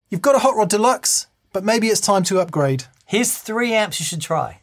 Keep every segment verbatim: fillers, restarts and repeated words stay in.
You've got a Hot Rod Deluxe, but maybe it's time to upgrade. Here's three amps you should try.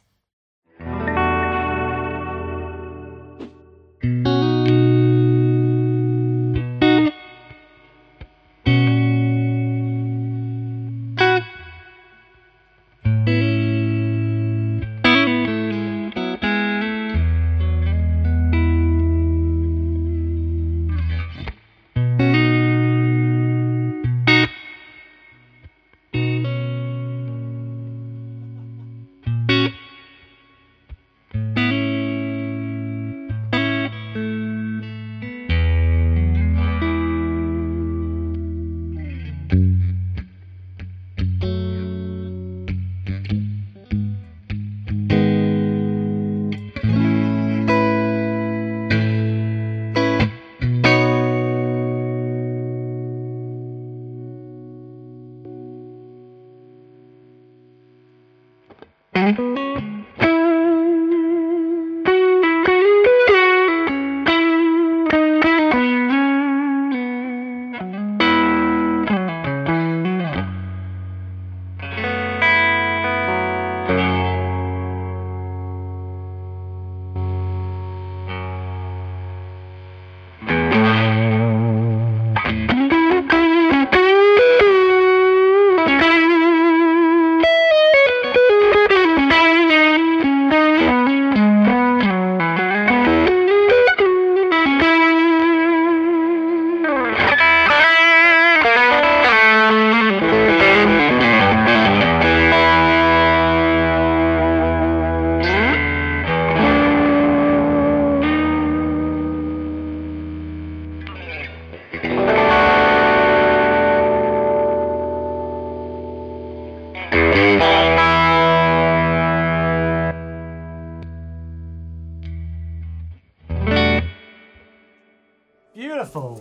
Beautiful.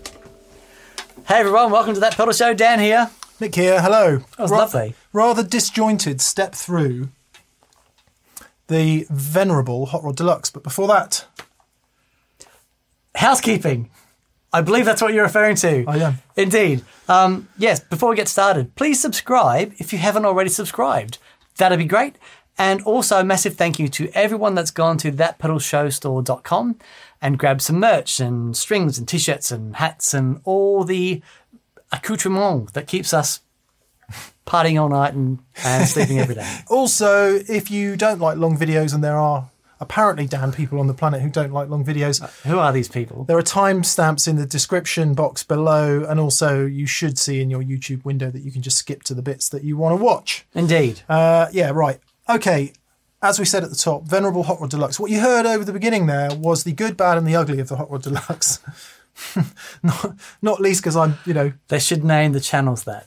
Hey everyone, welcome to That Pedal Show. Dan here. Nick here, hello. That was Ra- lovely. Rather disjointed step through the venerable Hot Rod Deluxe, but before that... Housekeeping. I believe that's what you're referring to. I am. Indeed. Um, yes, before we get started, please subscribe if you haven't already subscribed. That'd be great. And also a massive thank you to everyone that's gone to that pedal show store dot com and grabbed some merch and strings and t-shirts and hats and all the accoutrement that keeps us partying all night and, and sleeping every day. Also, if you don't like long videos, and there are apparently, Dan, people on the planet who don't like long videos. Who are these people? There are timestamps in the description box below, and also you should see in your YouTube window that you can just skip to the bits that you want to watch. Indeed. Uh, yeah, right. Okay, as we said at the top, Venerable Hot Rod Deluxe. What you heard over the beginning there was the good, bad and the ugly of the Hot Rod Deluxe. not, not least because I'm, you know... They should name the channels that.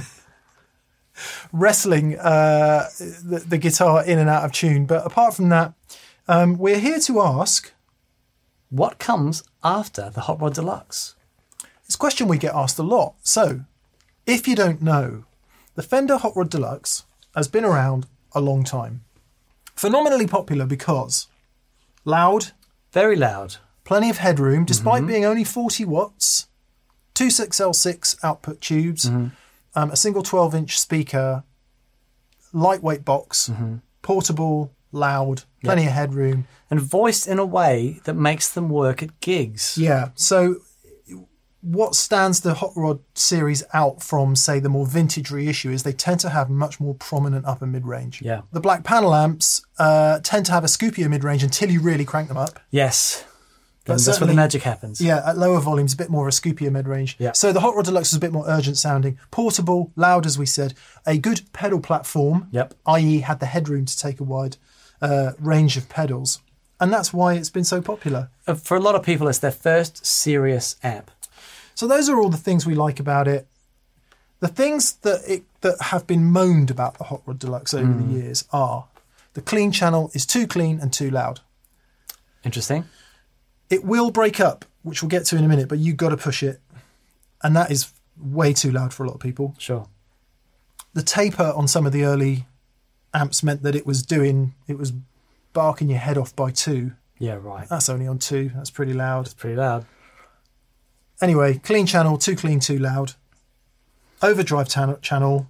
wrestling uh, the, the guitar in and out of tune. But apart from that, um, we're here to ask... What comes after the Hot Rod Deluxe? It's a question we get asked a lot. So, if you don't know, the Fender Hot Rod Deluxe has been around a long time. Phenomenally popular because loud, very loud, plenty of headroom, despite mm-hmm. being only forty watts, two six L six output tubes, mm-hmm. um, a single twelve inch speaker, lightweight box, mm-hmm. portable, loud, plenty yep. of headroom. And voiced in a way that makes them work at gigs. Yeah, so what stands the Hot Rod series out from, say, the more vintage reissue is they tend to have much more prominent upper mid-range. Yeah. The black panel amps uh, tend to have a scoopier mid-range until you really crank them up. Yes. Then that's where the magic happens. Yeah, at lower volumes, a bit more of a scoopier mid-range. Yeah. So the Hot Rod Deluxe was a bit more urgent sounding. Portable, loud, as we said. A good pedal platform, yep. that is had the headroom to take a wide uh, range of pedals. And that's why it's been so popular. Uh, for a lot of people, it's their first serious amp. So those are all the things we like about it. The things that it, that have been moaned about the Hot Rod Deluxe over mm. the years are the clean channel is too clean and too loud. Interesting. It will break up, which we'll get to in a minute, but you've got to push it. And that is way too loud for a lot of people. Sure. The taper on some of the early amps meant that it was doing, it was barking your head off by two. Yeah, right. That's only on two. That's pretty loud. It's pretty loud. Anyway, clean channel, too clean, too loud. overdrive tan- channel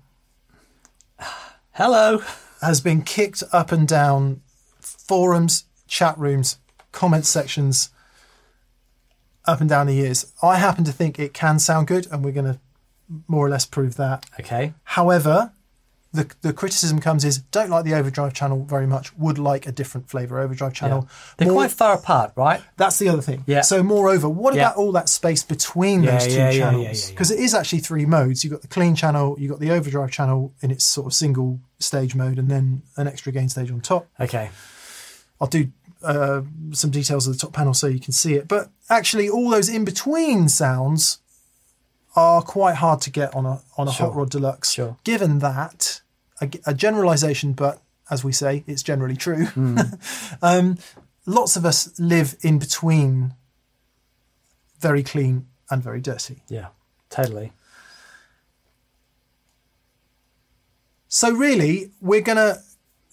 Hello. has been kicked up and down forums, chat rooms, comment sections, up and down the years. I happen to think it can sound good, and we're going to more or less prove that. Okay. However, the the criticism comes is, don't like the overdrive channel very much, would like a different flavour overdrive channel. Yeah. They're More- quite far apart, right? That's the other thing. Yeah. So moreover, what Yeah. about all that space between Yeah, those two yeah, yeah, channels? yeah, yeah, yeah. Because it is actually three modes. You've got the clean channel, you've got the overdrive channel in its sort of single stage mode, and then an extra gain stage on top. Okay. I'll do uh, some details of the top panel so you can see it. But actually, all those in-between sounds are quite hard to get on a on a Sure. Hot Rod Deluxe. Sure. Given that, a, a generalisation, but as we say, it's generally true. um, lots of us live in between very clean and very dirty. Yeah, totally. So really, we're going to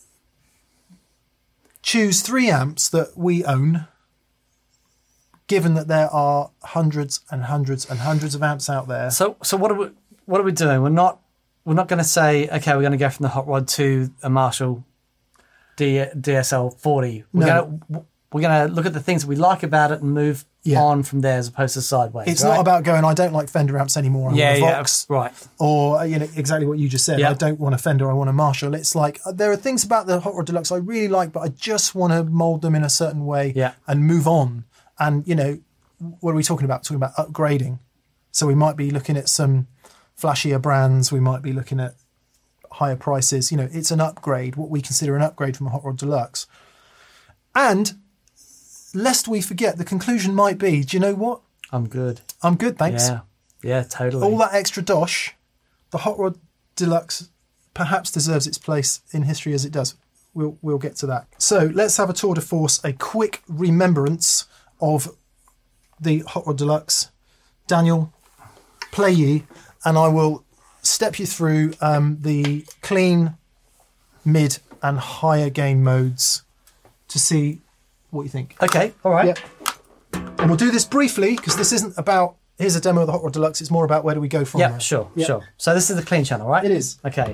choose three amps that we own, given that there are hundreds and hundreds and hundreds of amps out there. So, so what are we? What are we doing? We're not. We're not going to say, okay, we're going to go from the Hot Rod to a Marshall D, DSL forty. We're No. going to. We're going to look at the things that we like about it and move Yeah. on from there, as opposed to sideways. It's right? not about going, I don't like Fender amps anymore, I Yeah, want a yeah, Vox. right. Or, you know, exactly what you just said. Yeah. I don't want a Fender, I want a Marshall. It's like, uh, there are things about the Hot Rod Deluxe I really like, but I just want to mould them in a certain way Yeah. and move on. And, you know, what are we talking about? Talking about upgrading. So we might be looking at some flashier brands. We might be looking at higher prices. You know, it's an upgrade, what we consider an upgrade from a Hot Rod Deluxe. And lest we forget, the conclusion might be, do you know what? I'm good. I'm good, thanks. Yeah, yeah, totally. All that extra dosh, the Hot Rod Deluxe perhaps deserves its place in history as it does. We'll we'll get to that. So let's have a tour de force, a quick remembrance of the Hot Rod Deluxe. Daniel, play ye, and I will step you through um, the clean, mid, and higher gain modes to see what you think. Okay, all right. Yep. And we'll do this briefly because this isn't about, here's a demo of the Hot Rod Deluxe. It's more about where do we go from Yeah, there. sure, Yep. sure. So this is the clean channel, right? It is. Okay.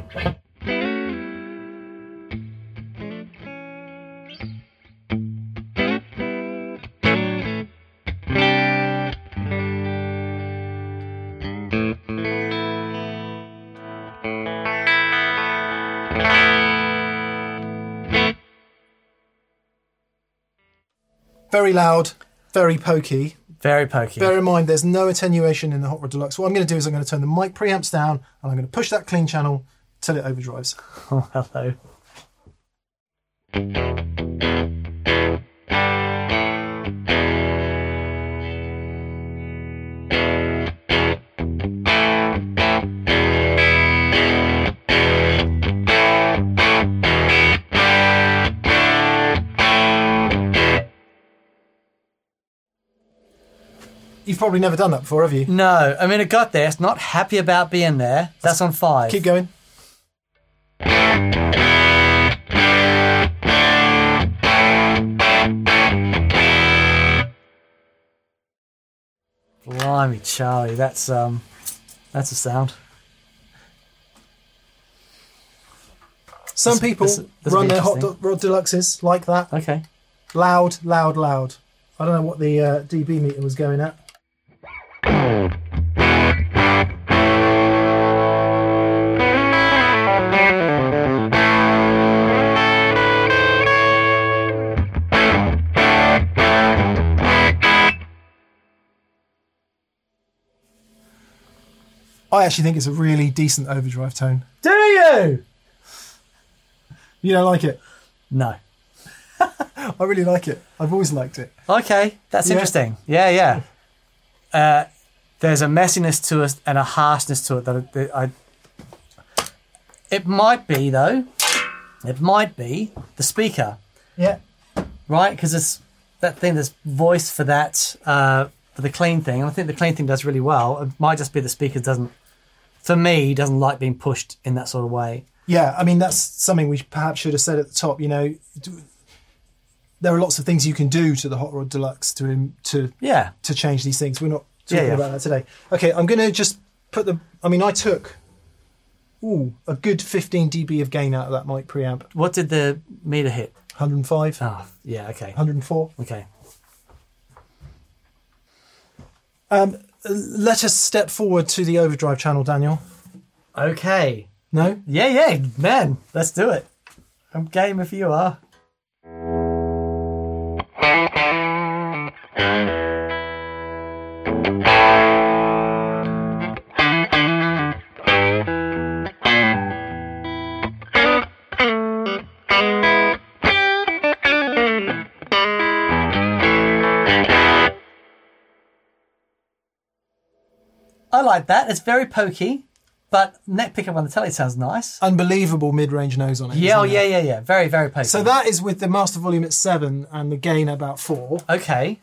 Very loud, very pokey. Very pokey. Bear in mind, there's no attenuation in the Hot Rod Deluxe. What I'm going to do is I'm going to turn the mic preamps down and I'm going to push that clean channel till it overdrives. Oh, hello. You've probably never done that before, have you? No, I mean, it got there. It's not happy about being there. That's on five. Keep going. Blimey, Charlie, that's um, that's a sound. Some This- people this- this will run be their Hot interesting. Rod Deluxes like that. Okay. Loud, loud, loud. I don't know what the uh, D B meter was going at. I actually think it's a really decent overdrive tone. Do you? You don't like it? No. I really like it. I've always liked it. Okay, that's Yeah. interesting. Yeah, yeah. Uh, there's a messiness to it and a harshness to it that, I, that I. It might be though. It might be the speaker, Yeah. right? Because it's that thing. There's voice for that uh, for the clean thing, and I think the clean thing does really well. It might just be the speaker doesn't, for me, doesn't like being pushed in that sort of way. Yeah, I mean, that's something we perhaps should have said at the top. You know, do- there are lots of things you can do to the Hot Rod Deluxe to to Yeah. to change these things. We're not talking Yeah, yeah. about that today. Okay, I'm going to just put the. I mean, I took ooh a good fifteen decibels of gain out of that mic preamp. What did the meter hit? one hundred five. Oh, yeah, okay. one hundred four. Okay. Um, let us step forward to the overdrive channel, Daniel. Okay. No? Yeah, yeah, man. Let's do it. I'm game if you are. I like that. It's very pokey, but neck pickup on the telly sounds nice. Unbelievable mid-range nose on it. Yeah, oh, isn't yeah, it? yeah, yeah. Very, very pokey. So that is with the master volume at seven and the gain at about four. Okay.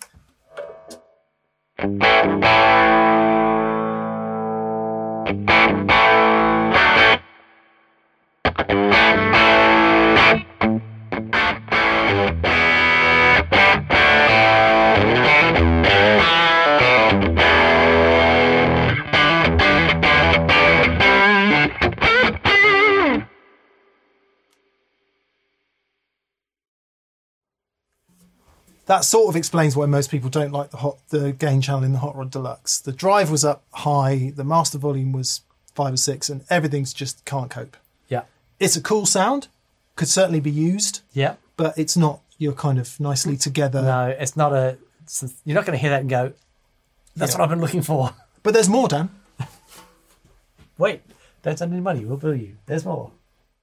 That sort of explains why most people don't like the hot the gain channel in the Hot Rod Deluxe. The drive was up high, the master volume was five or six, and everything's just can't cope. Yeah. It's a cool sound, could certainly be used, Yeah. but it's not your kind of nicely together. No, it's not a... It's a you're not going to hear that and go, that's Yeah. what I've been looking for. But there's more, Dan. Wait, don't send any money. We'll bill you. There's more.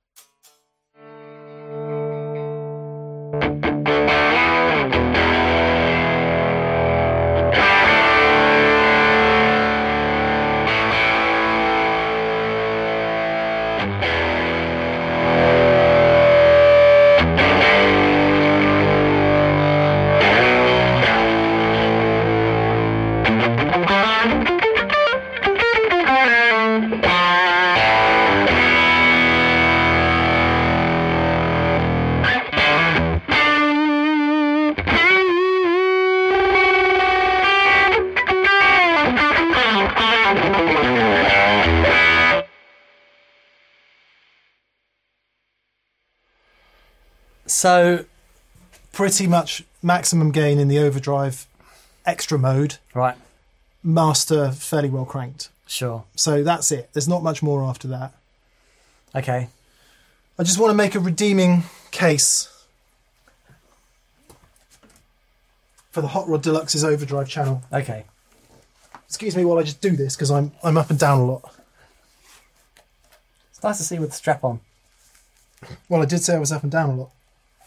So, Pretty much maximum gain in the overdrive extra mode. right, Master fairly well cranked. sure. So that's it. There's not much more after that. Okay. I just want to make a redeeming case for the Hot Rod Deluxe's overdrive channel. Okay. Excuse me while I just do this because I'm I'm up and down a lot. It's nice to see you with the strap on. Well, I did say I was up and down a lot.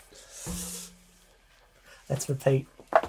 Let's repeat.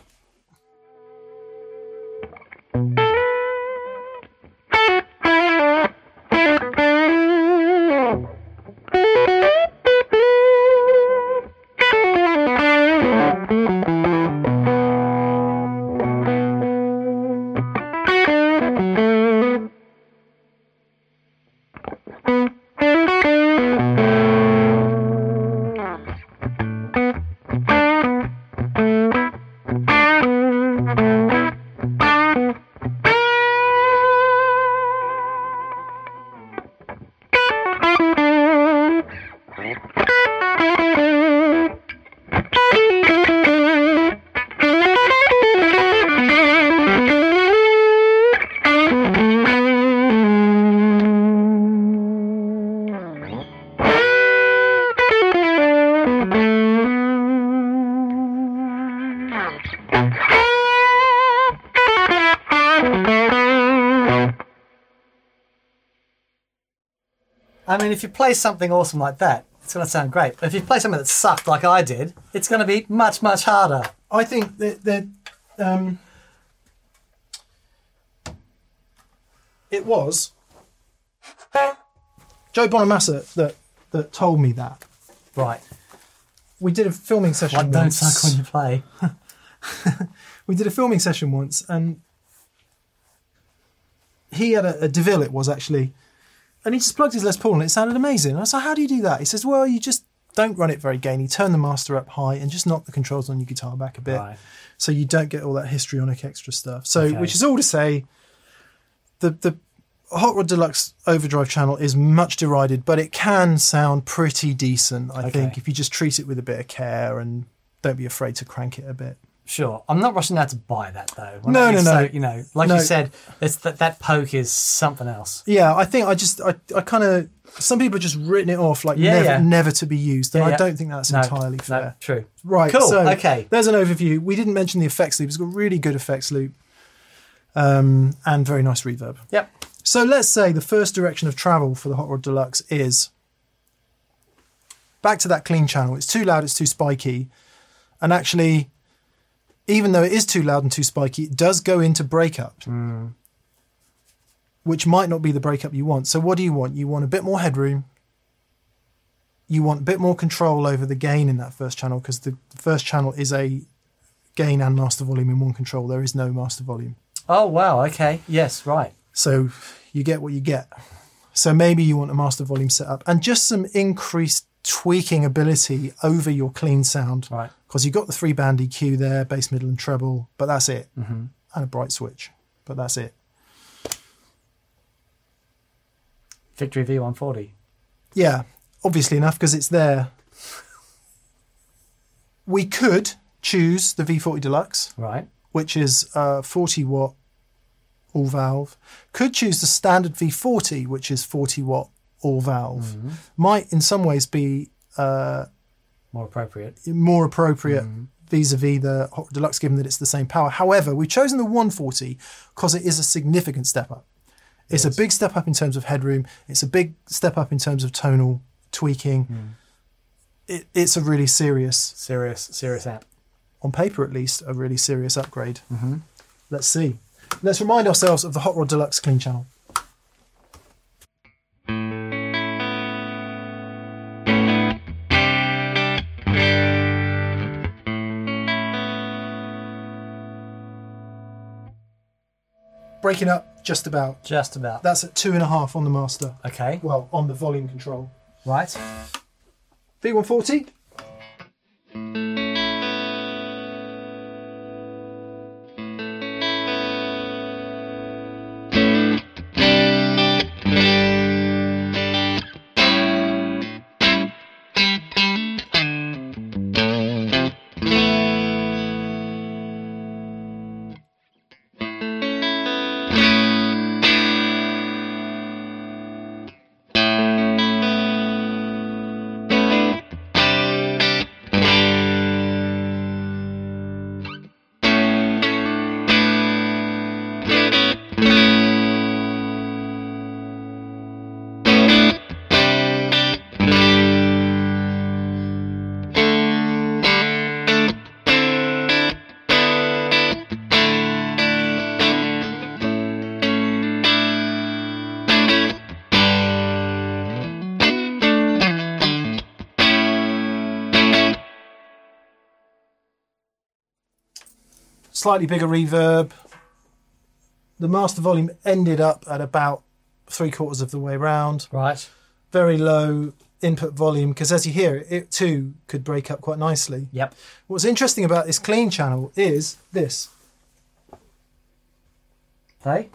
I mean, if you play something awesome like that, it's going to sound great. But if you play something that sucked like I did, it's going to be much, much harder. I think that, that um, it was Joe Bonamassa that, that told me that. Right. We did a filming session What don't once. suck when you play. We did a filming session once, and he had a, a DeVille, it was actually, and he just plugged his Les Paul and it sounded amazing. And I was like, how do you do that? He says, well, you just don't run it very gainy, turn the master up high and just knock the controls on your guitar back a bit. Right. So you don't get all that histrionic extra stuff. So, Okay. which is all to say, the the Hot Rod Deluxe overdrive channel is much derided, but it can sound pretty decent, I Okay. think, if you just treat it with a bit of care and don't be afraid to crank it a bit. Sure. I'm not rushing out to buy that, though. When No, I- no, so, no. You know, like No. you said, it's that, that poke is something else. Yeah, I think I just, I, I kind of, some people have just written it off like Yeah, never, yeah. never to be used, and Yeah, I yeah. don't think that's No, entirely fair. No, true. Right, Cool, so okay. there's an overview. We didn't mention the effects loop. It's got really good effects loop um, and very nice reverb. Yep. So let's say the first direction of travel for the Hot Rod Deluxe is back to that clean channel. It's too loud, it's too spiky. And actually, even though it is too loud and too spiky, it does go into breakup, Mm. which might not be the breakup you want. So what do you want? You want a bit more headroom. You want a bit more control over the gain in that first channel, because the first channel is a gain and master volume in one control. There is no master volume. Oh, wow. Okay. Yes, right. So you get what you get. So maybe you want a master volume setup and just some increased tweaking ability over your clean sound. Right. Because you've got the three band E Q there, bass, middle and treble, but that's it. Mm-hmm. And a bright switch, but that's it. Victory V one forty. Yeah, obviously enough, because it's there. We could choose the V forty Deluxe, Right. which is uh, forty watt all valve. Could choose the standard V forty, which is forty watt all valve. Mm-hmm. Might in some ways be uh, More appropriate. more appropriate Mm-hmm. vis-a-vis the Hot Rod Deluxe, given that it's the same power. However, we've chosen the one forty because it is a significant step up. It's Yes. a big step up in terms of headroom. It's a big step up in terms of tonal tweaking. Mm. It, it's a really serious, Serious, serious app. on paper at least, a really serious upgrade. Mm-hmm. Let's see. Let's remind ourselves of the Hot Rod Deluxe clean channel. Breaking up just about. Just about. That's at two and a half on the master. Okay. Well, on the volume control. Right. V one forty. Slightly bigger reverb. The master volume ended up at about three quarters of the way round. Right. Very low input volume, because as you hear it, it too could break up quite nicely. Yep. What's interesting about this clean channel is this. Play.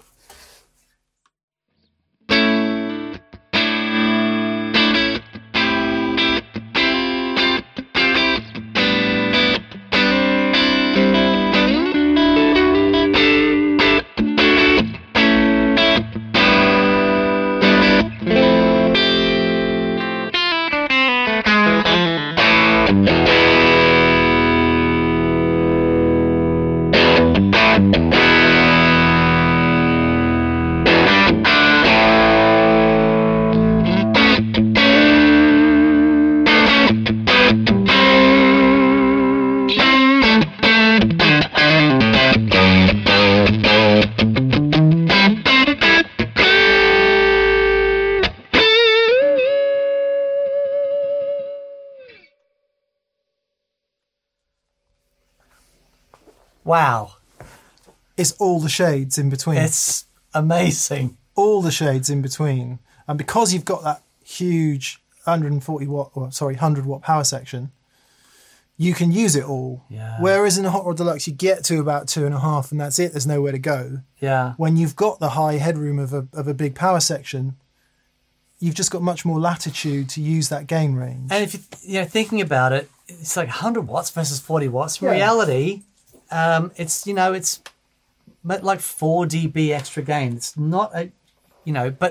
Wow. It's all the shades in between. It's amazing. all the shades in between. And because you've got that huge one hundred forty watt, or sorry, one hundred watt power section, you can use it all. Yeah. Whereas in a Hot Rod Deluxe, you get to about two and a half, and that's it. There's nowhere to go. Yeah. When you've got the high headroom of a of a big power section, you've just got much more latitude to use that gain range. And if you you know thinking about it, it's like one hundred watts versus forty watts. In Yeah. reality, um, it's you know it's like four dB extra gain. It's not a, you know, but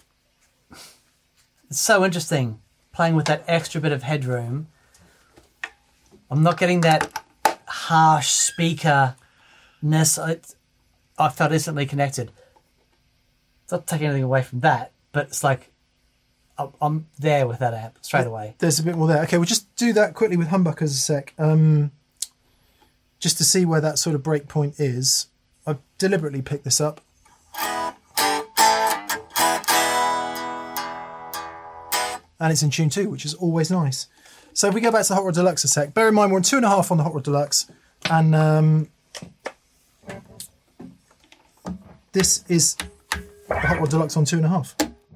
it's so interesting playing with that extra bit of headroom. I'm not getting that harsh speakerness. I, I felt instantly connected. It's not taking anything away from that, but it's like I'm- I'm there with that amp straight away. There's a bit more there. Okay, we'll just do that quickly with humbuckers a sec, um, just to see where that sort of break point is. I've deliberately picked this up. And it's in tune too, which is always nice. So if we go back to the Hot Rod Deluxe a sec, bear in mind we're on two and a half on the Hot Rod Deluxe, and um, this is the Hot Rod Deluxe on two and a half.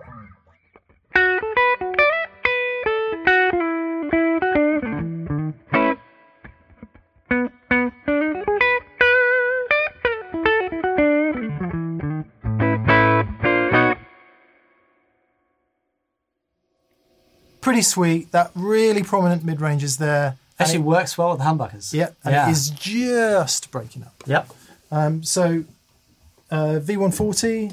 Pretty sweet. That really prominent mid-range is there. Actually And it- works well with humbuckers. yeah, and yeah. it is just breaking up. Yep. Um, so uh, V one forty.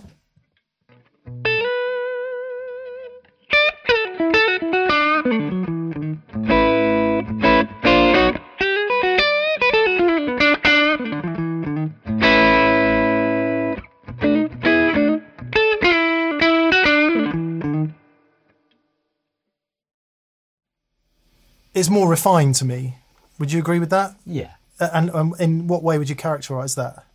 Is more refined to me. Would you agree with that? Yeah. Uh, And um, in what way would you characterise that?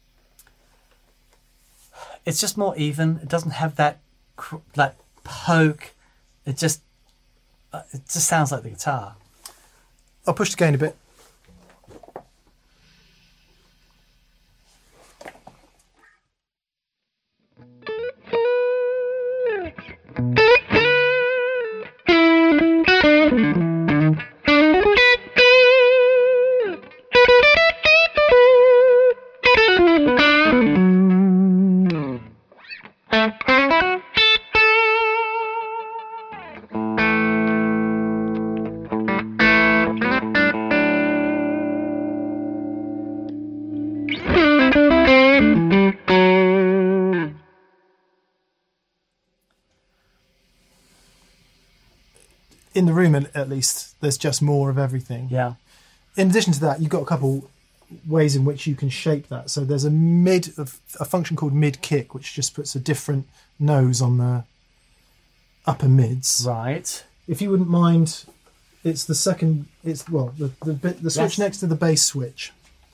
It's just more even. It doesn't have that cr- that poke. It just uh, it just sounds like the guitar. I'll push the gain a bit. In the room, at at least, there's just more of everything. Yeah. In addition to that, you've got a couple ways in which you can shape that. So there's a mid, a function called mid kick, which just puts a different nose on the upper mids. Right. If you wouldn't mind, it's the second. It's well, the the, bit, the switch Yes. next to the bass switch.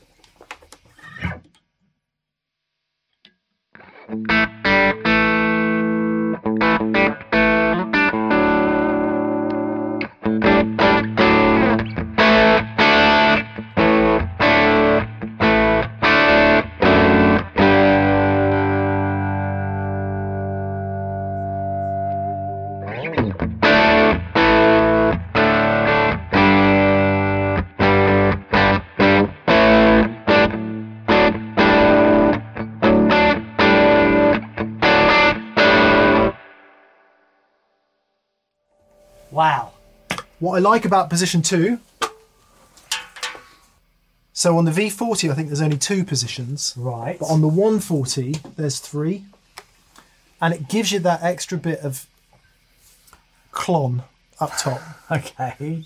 Wow. What I like about position two. So on the V forty, I think there's only two positions. Right. But on the one forty, there's three. And it gives you that extra bit of clon up top. Okay.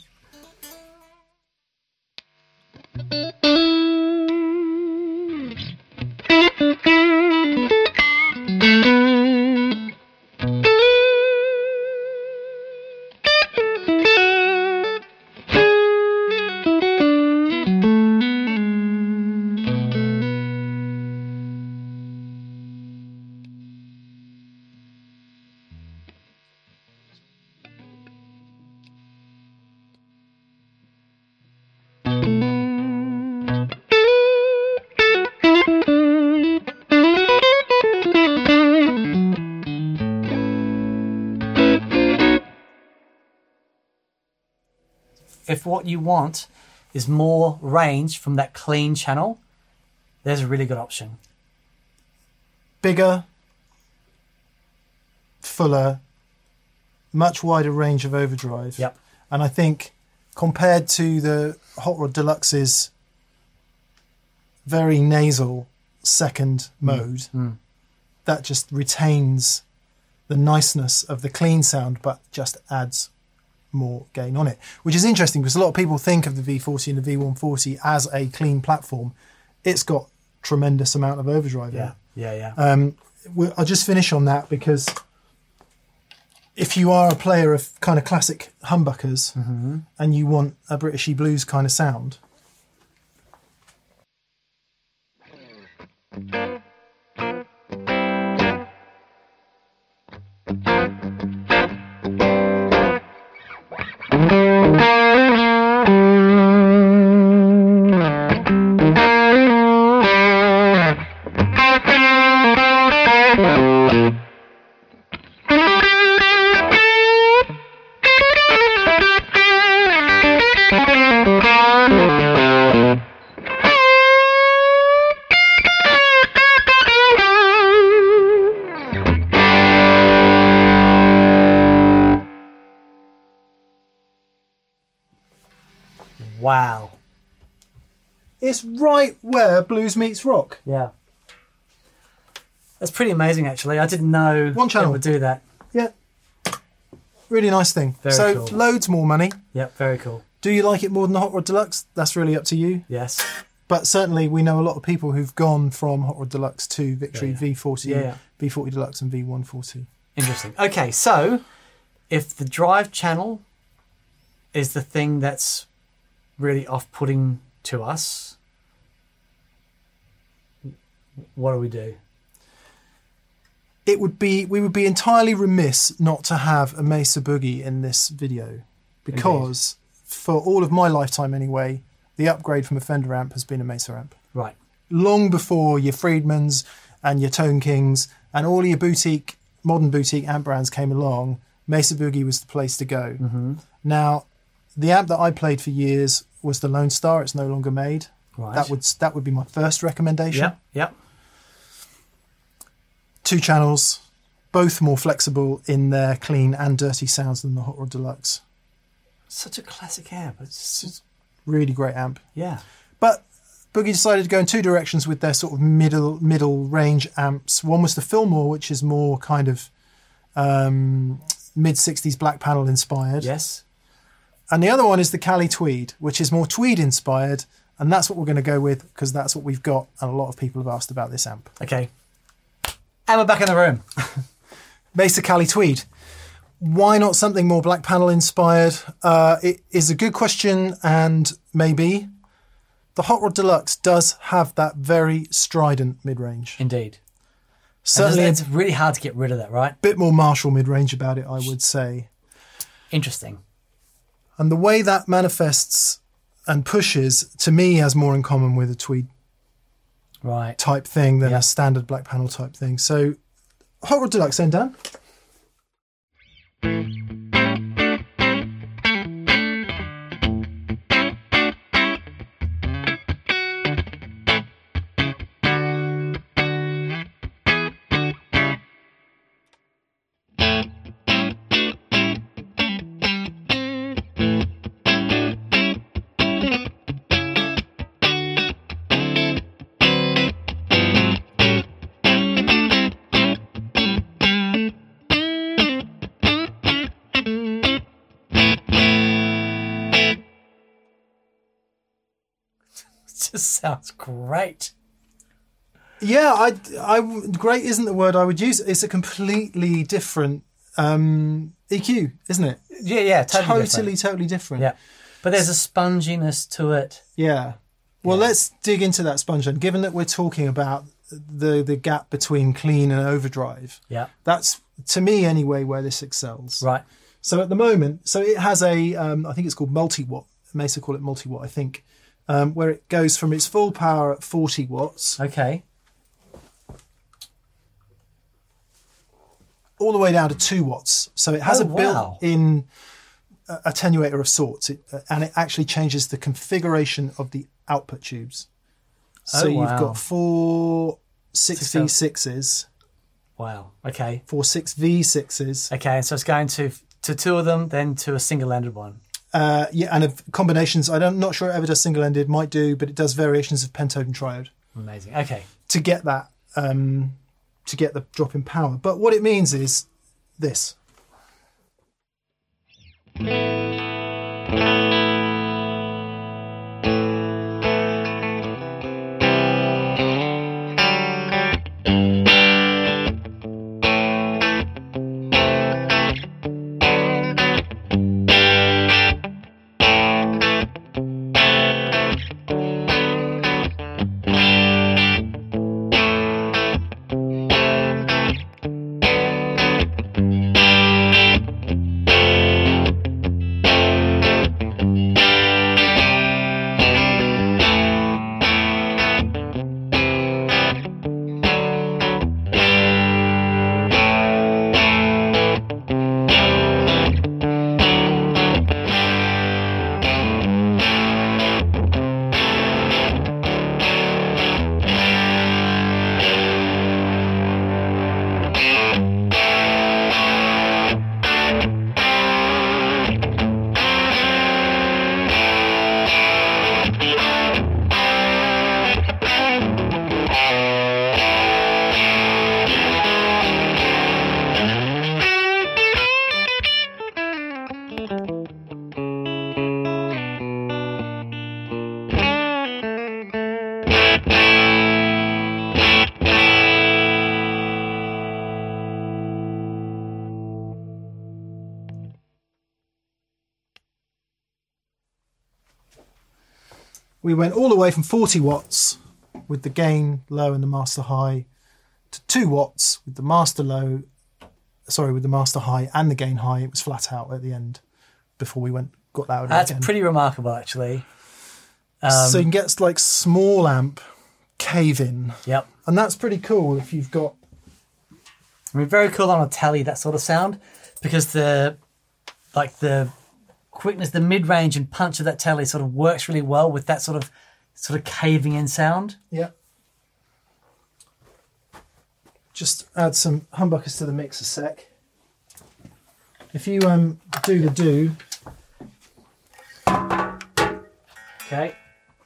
If what you want is more range from that clean channel, there's a really good option. Bigger, fuller, much wider range of overdrive. Yep. And I think compared to the Hot Rod Deluxe's very nasal second mode, Mm. that just retains the niceness of the clean sound, but just adds more gain on it, which is interesting because a lot of people think of the V forty and the V one forty as a clean platform. It's got tremendous amount of overdrive in Yeah, it. yeah, yeah. Um, we- I'll just finish on that because if you are a player of kind of classic humbuckers Mm-hmm. and you want a Britishy blues kind of sound, Wow. it's right where blues meets rock. Yeah. That's pretty amazing, actually. I didn't know One channel. it would do that. Yeah. Really nice thing. Very so cool. loads more money. Yep, very cool. Do you like it more than the Hot Rod Deluxe? That's really up to you. Yes. But certainly we know a lot of people who've gone from Hot Rod Deluxe to Victory Yeah, yeah. V forty, Yeah, yeah. V forty Deluxe and V one forty. Interesting. Okay, so if the drive channel is the thing that's really off-putting to us, what do we do? It would be we would be entirely remiss not to have a Mesa Boogie in this video because for all of my lifetime anyway, the upgrade from a Fender amp has been a Mesa amp. Right. Long before your Friedmans and your Tone Kings and all your boutique, modern boutique amp brands came along, Mesa Boogie was the place to go. Mm-hmm. Now, the amp that I played for years was the Lone Star. It's no longer made. Right. That would that would be my first recommendation. Yep, yep. Two channels, both more flexible in their clean and dirty sounds than the Hot Rod Deluxe. Such a classic amp. It's just, Really great amp. yeah. But Boogie decided to go in two directions with their sort of middle middle range amps. One was the Fillmore, which is more kind of um, mid sixties black panel inspired. Yes. And the other one is the Cali Tweed, which is more Tweed inspired. And that's what we're going to go with because that's what we've got. And a lot of people have asked about this amp. Okay. And we're back in the room. Mesa Cali Tweed. Why not something more black panel inspired? Uh, it is a good question, and maybe the Hot Rod Deluxe does have that very strident mid-range. Indeed. Certainly And a it's really hard to get rid of that, right? bit more Marshall mid-range about it, I would say. Interesting. And the way that manifests and pushes, to me, has more in common with a Tweed Right. type thing than Yeah. a standard black panel type thing. So, Hot Rod Deluxe, then, Dan? It just sounds great. Yeah, I, I, great isn't the word I would use. It's a completely different um, E Q, isn't it? Yeah, yeah, totally Totally, different. totally different. Yeah. But there's a sponginess to it. Yeah. Well, Yeah. let's dig into that sponge then. Given that we're talking about the the gap between clean and overdrive, Yeah. that's, to me anyway, where this excels. Right. So at the moment, so it has a, um, I think it's called multi-watt. Mesa call it multi-watt, I think, um, where it goes from its full power at forty watts Okay. all the way down to two watts. So it has Oh, a wow. built-in a attenuator of sorts, it, uh, and it actually changes the configuration of the output tubes. So Oh, wow. you've got four six V sixes, Wow. Okay. four six V sixes, Okay. So it's going to to two of them, then to a single-ended one. uh, yeah, and of combinations. I don't, I'm not sure it ever does single-ended, might do, but it does variations of pentode and triode Amazing. Okay. to get that, um, to get the drop in power. But what it means is this. We went all the way from forty watts with the gain low and the master high to two watts with the master low, sorry, with the master high and the gain high. It was flat out at the end before we went got louder That's again. pretty remarkable, actually. Um, so you can get like small amp cave in, Yep. and that's pretty cool if you've got. I mean, very cool on a telly, that sort of sound, because the like the quickness, the mid-range and punch of that telly sort of works really well with that sort of sort of caving in sound. Yeah. Just add some humbuckers to the mix a sec. If you um do the do. Okay.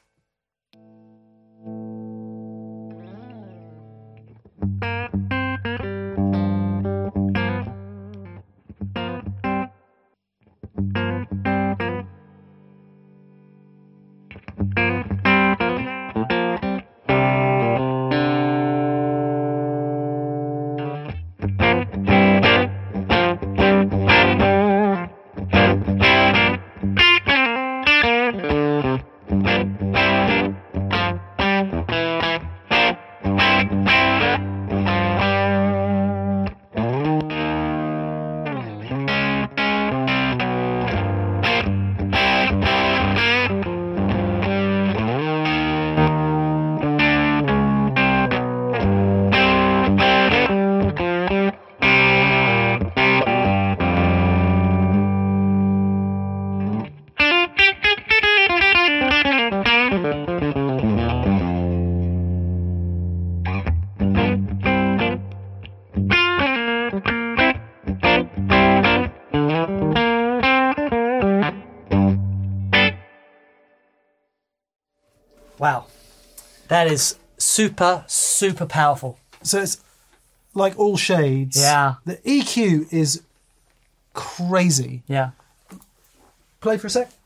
Wow. That is super, super powerful. So it's like all shades. Yeah. The E Q is crazy. Yeah. Play for a sec.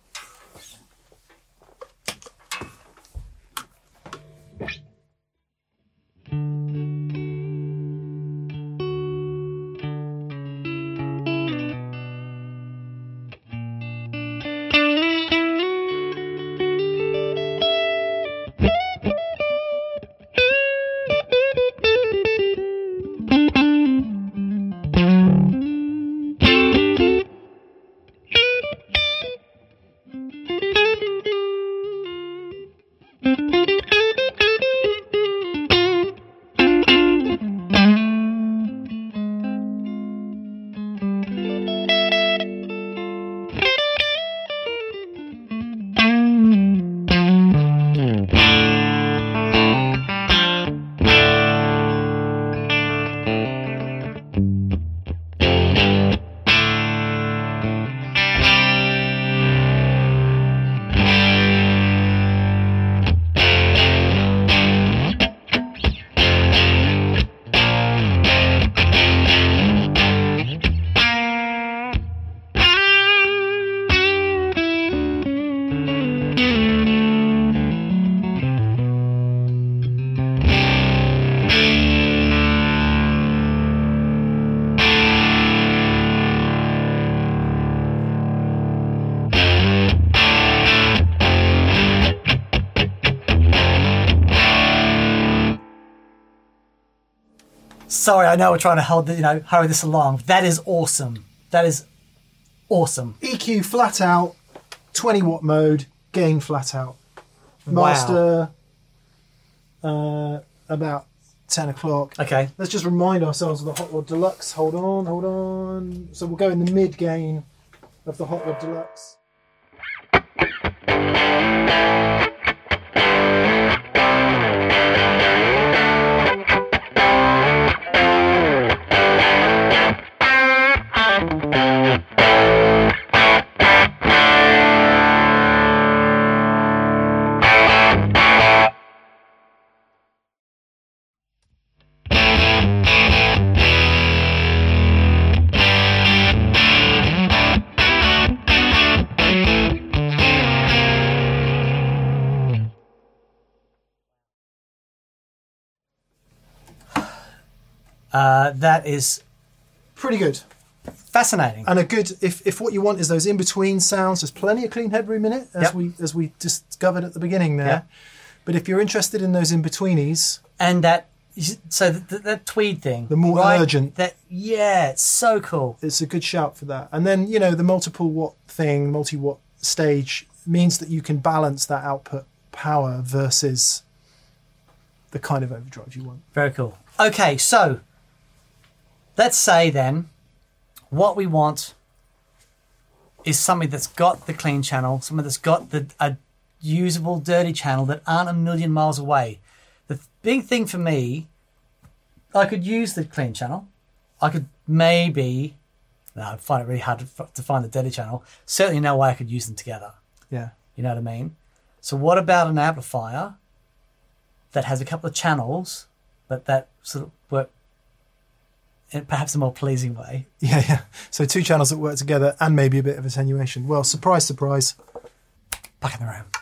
Sorry, I know we're trying to hold the, you know, hurry this along. That is awesome. That is awesome. E Q flat out, twenty watt mode, gain flat out. Master, wow. uh, about ten o'clock. Okay. Let's just remind ourselves of the Hot Rod Deluxe. Hold on, hold on. So we'll go in the mid gain of the Hot Rod Deluxe. Uh, that is pretty good. Fascinating. And a good, if, if what you want is those in-between sounds, there's plenty of clean headroom in it, as Yep. we as we discovered at the beginning there. Yep. But if you're interested in those in-betweenies, And that, so that, that tweed thing. The more right? urgent. That, yeah, it's so cool. it's a good shout for that. And then, you know, the multiple watt thing, multi-watt stage, means that you can balance that output power versus the kind of overdrive you want. Very cool. Okay, so let's say then what we want is something that's got the clean channel, something that's got the a usable dirty channel that aren't a million miles away. The big thing for me, I could use the clean channel. I could maybe, no, I find it really hard to, to find the dirty channel. Certainly no way I could use them together. Yeah. You know what I mean? So what about an amplifier that has a couple of channels, but that sort of work in perhaps a more pleasing way? Yeah, yeah. So two channels that work together and maybe a bit of attenuation. Well, surprise, surprise. Back in the room.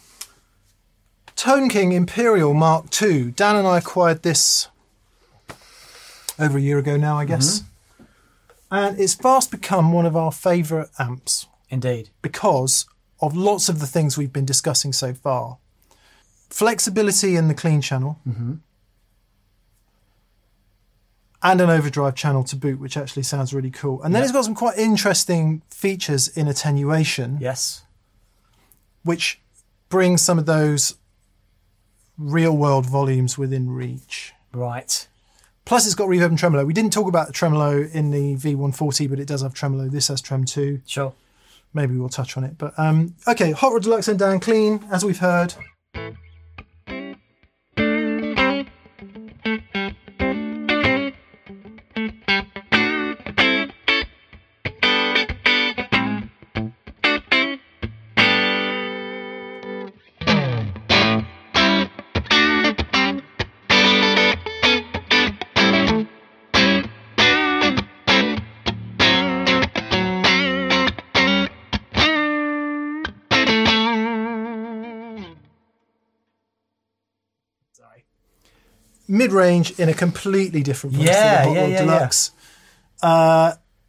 Tone King Imperial Mark two. Dan and I acquired this over a year ago now, I guess. Mm-hmm. And it's fast become one of our favourite amps Indeed. because of lots of the things we've been discussing so far. Flexibility in the clean channel. Mm-hmm. And an overdrive channel to boot, which actually sounds really cool. And then Yep. it's got some quite interesting features in attenuation, Yes. which brings some of those real-world volumes within reach. Right. Plus, it's got reverb and tremolo. We didn't talk about the tremolo in the V one forty, but it does have tremolo. This has Trem two. Sure. Maybe we'll touch on it. But um, okay, Hot Rod Deluxe and Dan clean, as we've heard. Mid-range in a completely different place Yeah, to the Hot yeah, Rod yeah, Deluxe. Uh,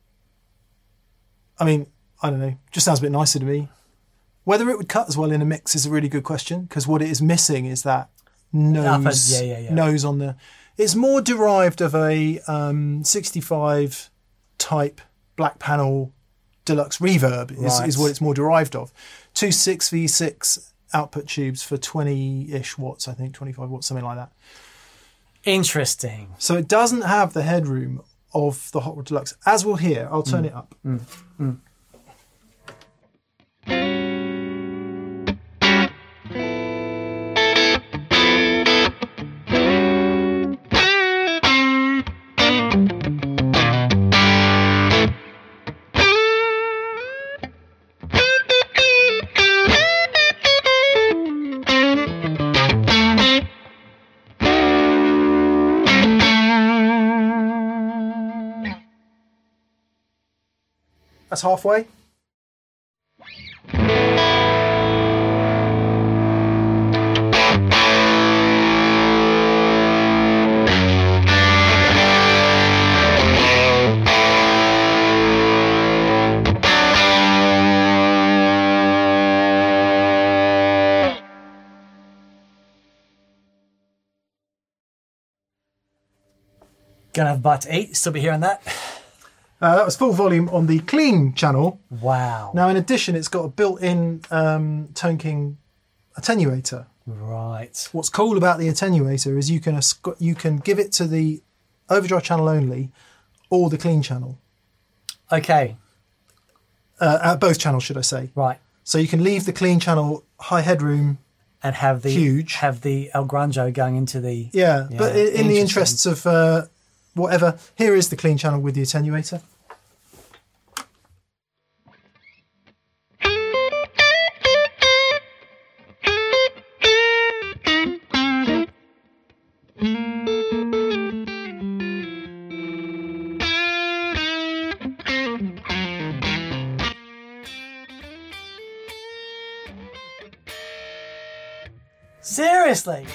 I mean, I don't know. Just sounds a bit nicer to me. Whether it would cut as well in a mix is a really good question, because what it is missing is that nose, yeah, yeah, yeah. nose on the. It's more derived of a um, sixty-five type black panel deluxe reverb is, Right. is what it's more derived of. Two six V six output tubes for twenty-ish watts, I think, twenty-five watts, something like that. Interesting. So it doesn't have the headroom of the Hot Rod Deluxe. As we'll hear, I'll turn Mm. it up. Mm. Mm. That's halfway. Gonna have a bite to eat. Still be hearing that. Uh, that was full volume on the clean channel. Wow. Now, in addition, it's got a built-in um, Tone King attenuator. Right. What's cool about the attenuator is you can asc- you can give it to the overdrive channel only, or the clean channel. Okay. Uh, uh, both channels, should I say? Right. So you can leave the clean channel high headroom. And have the Huge. have the El Granjo going into the Yeah, Yeah, but in, in the interesting. interests of uh, whatever, here is the clean channel with the attenuator. Seriously.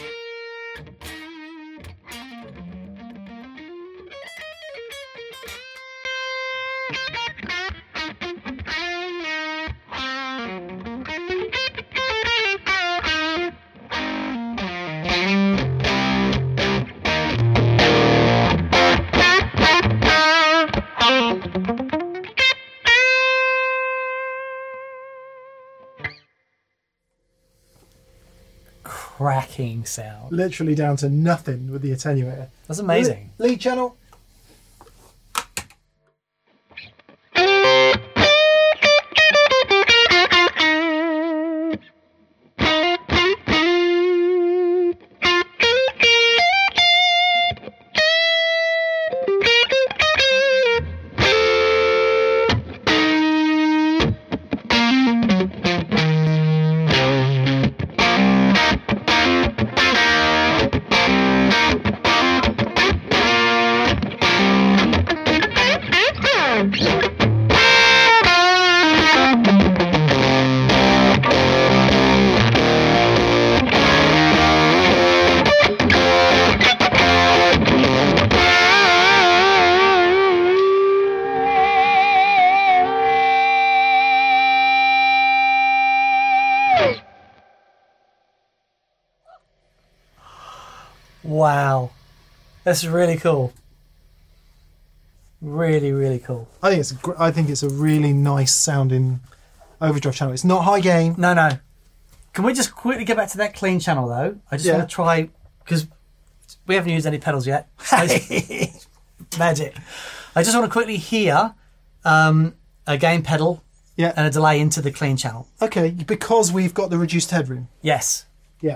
Cracking sound. Literally down to nothing with the attenuator. That's amazing. Le- lead channel. Wow. That's really cool. Really, really cool. I think it's a, gr- I think it's a really nice sounding overdrive channel. It's not high gain. No, no. Can we just quickly get back to that clean channel though? I just Yeah. want to try, because we haven't used any pedals yet. I just- Magic. I just want to quickly hear um, a gain pedal Yeah. and a delay into the clean channel. Okay, because we've got the reduced headroom. Yes. Yeah.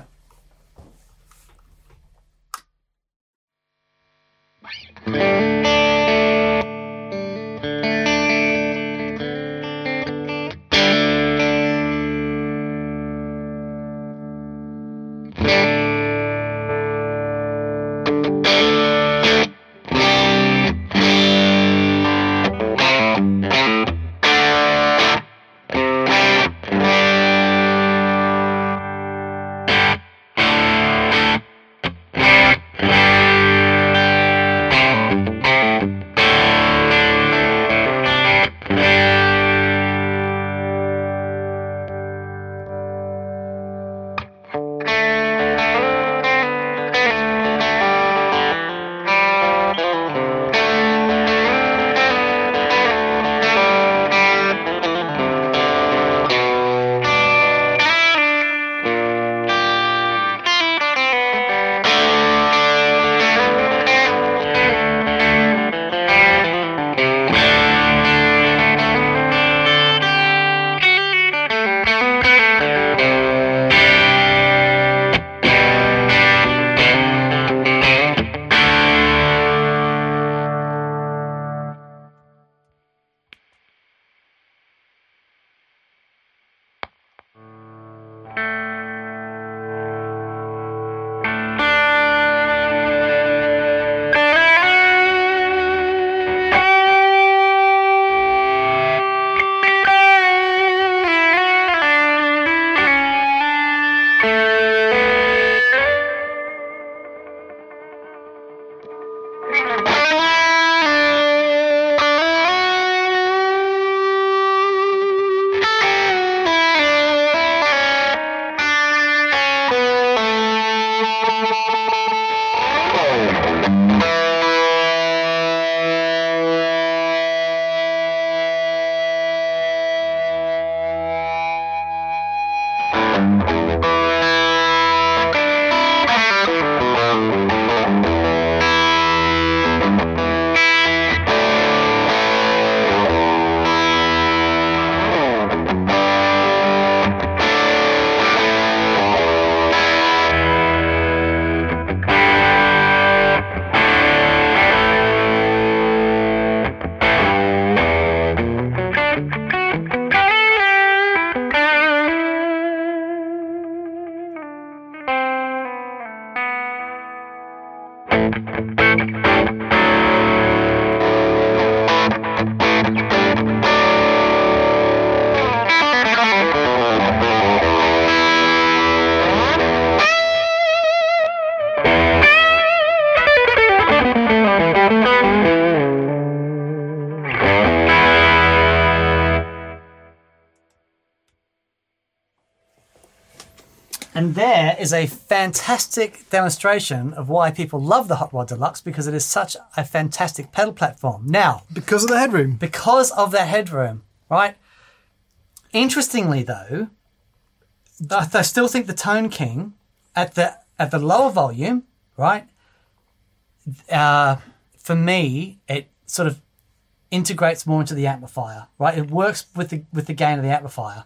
And there is a fantastic demonstration of why people love the Hot Rod Deluxe, because it is such a fantastic pedal platform. Now, Because of the headroom. because of that headroom, right? Interestingly, though, I I still think the Tone King at the at the lower volume, right? Uh, for me, it sort of integrates more into the amplifier, right? It works with the with the gain of the amplifier.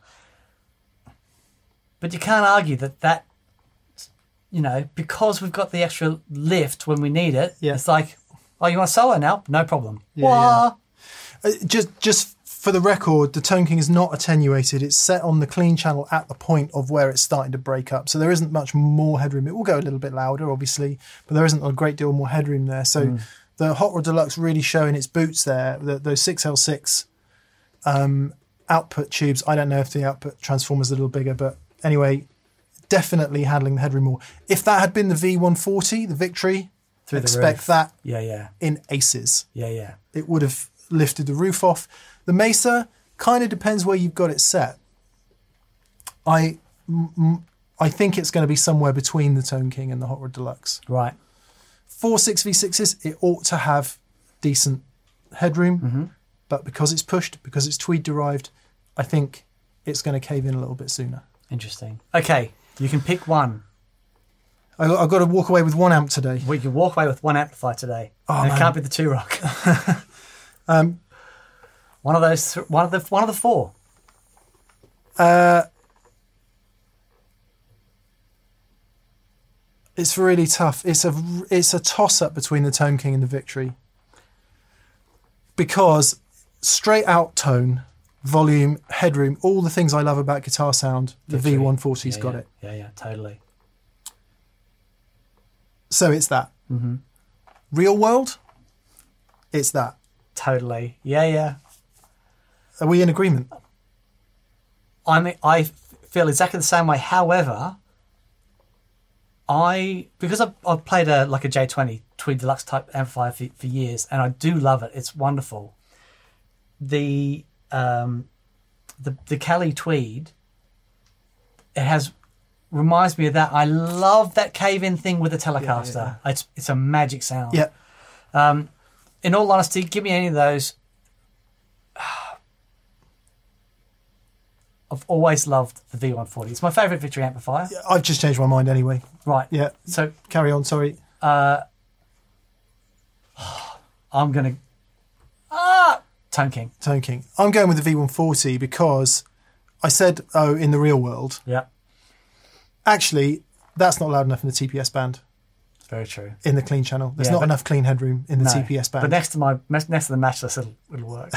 But you can't argue that that, you know, because we've got the extra lift when we need it, Yeah. it's like, oh, you want a solo now? No problem. Yeah, Wah! Uh, just just for the record, the Tone King is not attenuated. It's set on the clean channel at the point of where it's starting to break up. So there isn't much more headroom. It will go a little bit louder, obviously, but there isn't a great deal more headroom there. So Mm. the Hot Rod Deluxe really showing its boots there. The, those six L six um, output tubes. I don't know if the output transformer's a little bigger, but anyway, definitely handling the headroom more. If that had been the V one forty, the Victory, Through the expect roof. that Yeah, yeah, in aces. yeah, yeah. It would have lifted the roof off. The Mesa kind of depends where you've got it set. I, m- m- I think it's going to be somewhere between the Tone King and the Hot Rod Deluxe. Right. Four six V sixes, it ought to have decent headroom, but because it's pushed, because it's Tweed derived, I think it's going to cave in a little bit sooner. Interesting. Okay, you can pick one. I, I've got to walk away with one amp today. We can walk away with one amplifier today. Oh, and it man. can't be the Two Rock. Um, one of those. Th- one of the. One of the four. uh, it's really tough. It's a it's a toss up between the Tone King and the Victory, because straight out tone, volume, headroom, all the things I love about guitar sound, the Victory. V one forty's Yeah, got yeah. it. Yeah, yeah, totally. So it's that. Mm-hmm. Real world, it's that. Totally. Yeah, yeah. Are we in agreement? I mean, I feel exactly the same way. However, I because I've, I've played a like a J twenty Tweed Deluxe type amplifier for, for years, and I do love it. It's wonderful. The um, the the Cali Tweed, it has reminds me of that. I love that cave-in thing with the Telecaster. It's it's a magic sound. Yeah. Um, in all honesty, give me any of those. I've always loved the V one forty. It's my favourite Victory amplifier. I've just changed my mind anyway. Right. Yeah. So Carry on, sorry. I'm going to... Ah! Tone King. Tone King. I'm going with the V one forty because I said, oh, in the real world. Yeah. Actually, that's not loud enough in the T P S band, It's very true. in the clean channel. There's Yeah, not but- enough clean headroom in the No. T P S band. But next to my next to the matchless, it'll, it'll work.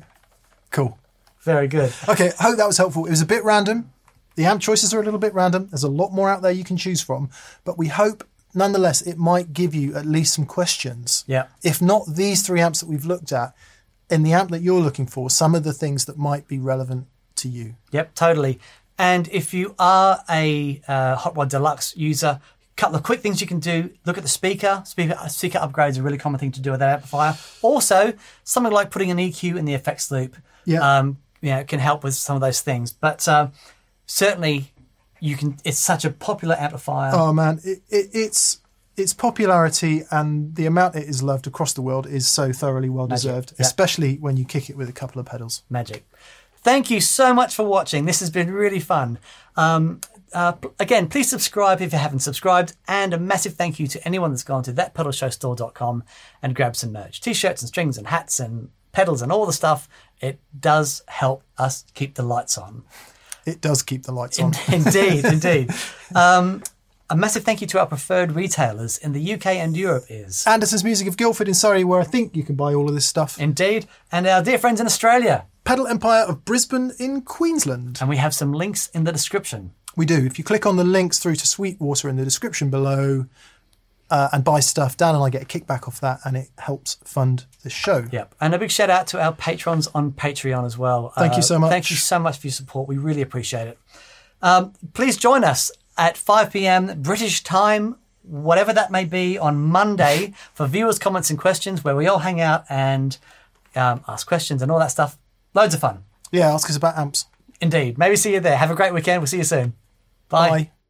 Cool. Very good. Okay, I hope that was helpful. It was a bit random. The amp choices are a little bit random. There's a lot more out there you can choose from. But we hope, nonetheless, it might give you at least some questions. Yeah. If not these three amps that we've looked at, in the amp that you're looking for, some of the things that might be relevant to you. Yep, totally. And if you are a uh, Hot Rod Deluxe user, a couple of quick things you can do. Look at the speaker. Speaker speaker upgrades are a really common thing to do with that amplifier. Also, something like putting an E Q in the effects loop Yeah. um, you know, can help with some of those things. But uh, certainly, you can. It's such a popular amplifier. Oh man, it, it, it's its popularity and the amount it is loved across the world is so thoroughly well deserved, Yeah. especially when you kick it with a couple of pedals. Magic. Thank you so much for watching. This has been really fun. Um, uh, p- again, please subscribe if you haven't subscribed, and a massive thank you to anyone that's gone to that pedal show store dot com and grabbed some merch, t-shirts and strings and hats and pedals and all the stuff. It does help us keep the lights on. It does keep the lights on. Indeed, indeed. Um, a massive thank you to our preferred retailers in the U K and Europe is Anderson's Music of Guildford in Surrey, where I think you can buy all of this stuff. indeed, and our dear friends in Australia. Pedal Empire of Brisbane in Queensland. And we have some links in the description. We do. If you click on the links through to Sweetwater in the description below uh, and buy stuff, Dan and I get a kickback off that, and it helps fund the show. Yep. And a big shout out to our patrons on Patreon as well. Thank you so much. Thank you so much for your support. We really appreciate it. Um, please join us at five p.m. British time, whatever that may be, on Monday for viewers' comments and questions, where we all hang out and um, ask questions and all that stuff. Loads of fun. Yeah, ask us about amps. Indeed. Maybe see you there. Have a great weekend. We'll see you soon. Bye. Bye.